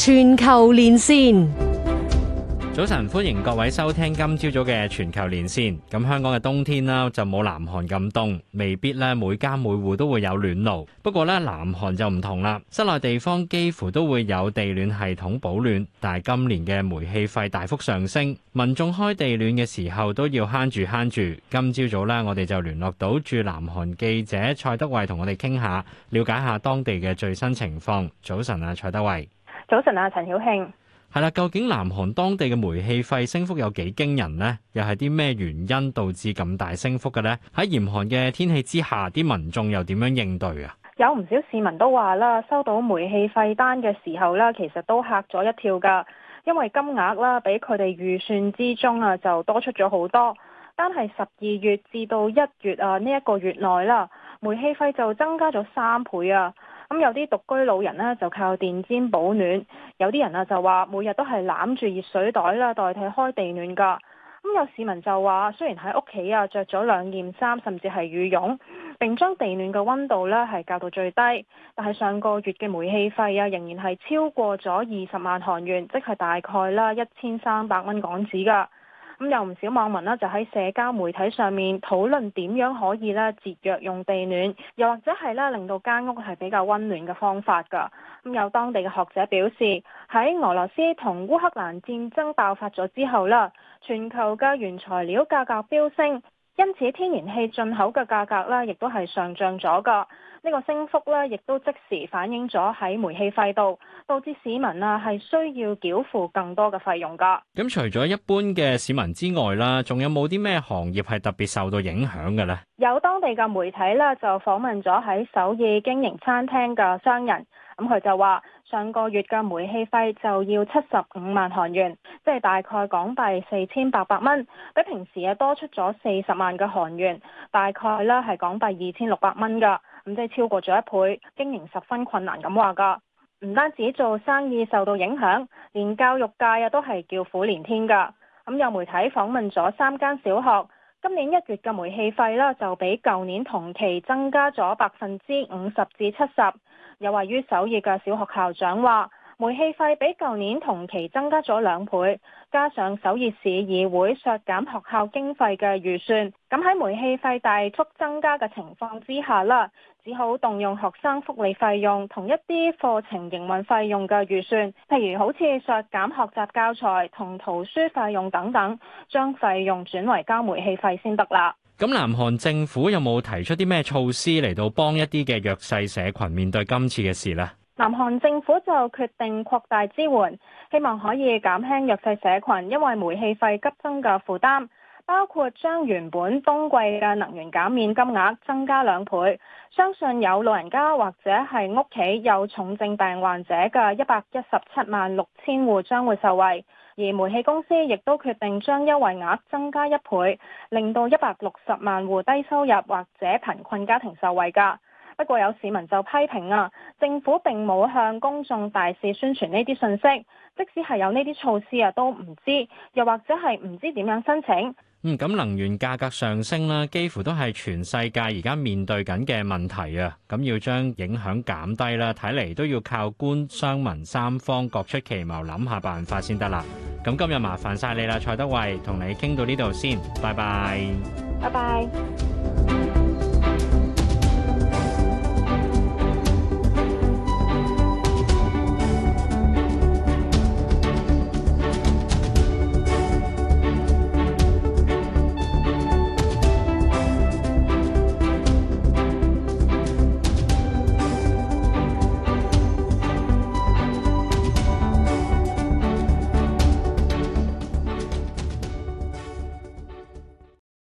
全球連線。 早晨，歡迎各位收聽今朝早嘅全球連線。咁香港嘅冬天啦，就冇南韓咁凍，未必咧每家每戶都會有暖爐。不過咧，南韓就唔同啦，室內地方幾乎都會有地暖系統保暖。但係今年嘅煤氣費大幅上升，民眾開地暖嘅時候都要慳住。今朝早咧，我哋就聯絡到駐南韓記者蔡德蕙，同我哋傾下，了解下當地嘅最新情況。早晨啊，蔡德蕙。 早晨啊，陳曉慶。 係啦，究竟南韓當地嘅煤氣費升幅有幾驚人呢？又係啲咩原因導致咁大升幅嘅呢？喺嚴寒嘅天氣之下，啲民眾又點樣應對啊？ 有唔少市民都話啦，收到煤氣費單嘅時候啦，其實都嚇咗一跳㗎，因為金額啦比佢哋預算之中啊就多出咗好多。單係12月至到1月啊呢一個月內啦，煤氣費就增加咗3倍啊！咁有啲獨居老人呢，就靠電氈保暖，有啲人啊就話每日都係攬住熱水袋啦，代替開地暖㗎。咁有市民就話，雖然喺屋企啊着咗2件衫，甚至係羽絨，並將地暖嘅溫度呢係校到最低，但係上個月嘅煤氣費啊仍然係超過咗20萬韓元，即係大概啦1300蚊港紙㗎。咁有唔少網民呢，就喺社交媒體上面討論點樣可以咧節約用地暖，又或者係咧令到間屋係比較溫暖嘅方法㗎。咁有當地嘅學者表示，喺俄羅斯同烏克蘭戰爭爆發咗之後啦，全球嘅原材料價格飆升，因此天然氣進口嘅價格咧亦都係上漲咗㗎。呢個升幅咧，亦都即時反映咗喺煤氣費度，導致市民啊係需要繳付更多嘅費用㗎。 咁除咗一般嘅市民之外啦，仲有冇啲咩行業係特別受到影響嘅呢？ 有當地嘅媒體咧就訪問咗喺首爾經營餐廳嘅商人，咁佢就話上個月嘅煤氣費就要75萬韓元，即係大概港幣4800蚊，比平時啊多出咗40萬嘅韓元，大概咧係港幣2600蚊㗎。咁即係超過咗1倍，經營十分困難咁話㗎。唔單止做生意受到影響，連教育界啊都係叫苦連天㗎。咁有媒體訪問咗3間小學，今年1月嘅煤氣費啦就比舊年同期增加咗50%至70%。有位於首爾嘅小學校長話，煤氣費比舊年同期增加咗2倍，加上首爾市議會削減學校經費嘅預算，咁喺煤氣費大幅增加嘅情況之下啦，只好動用學生福利費用同一啲課程營運費用嘅預算，譬如好似削減學習教材同圖書費用等等，將費用轉為交煤氣費先得啦。 咁南韓政府有冇提出啲咩措施嚟到幫一啲嘅弱勢社群面對今次嘅事呢？ 南韓政府就決定擴大支援，希望可以減輕弱勢社群因為煤氣費急增嘅負擔，包括將原本冬季嘅能源減免金額增加2倍。相信有老人家或者係屋企有重症病患者嘅1176000戶將會受惠，而煤氣公司亦都決定將優惠額增加1倍，令到160萬戶低收入或者貧困家庭受惠㗎。不過有市民就批評啊，政府並冇向公眾大肆宣傳呢啲信息，即使係有呢啲措施啊，都唔知，又或者係唔知點樣申請。 咁能源價格上升啦，幾乎都係全世界而家面對緊嘅問題啊！咁要將影響減低啦，睇嚟都要靠官商民三方各出奇謀，諗下辦法先得啦。咁今日麻煩晒你啦，蔡德蕙，同你傾到呢度先，拜拜。 拜拜。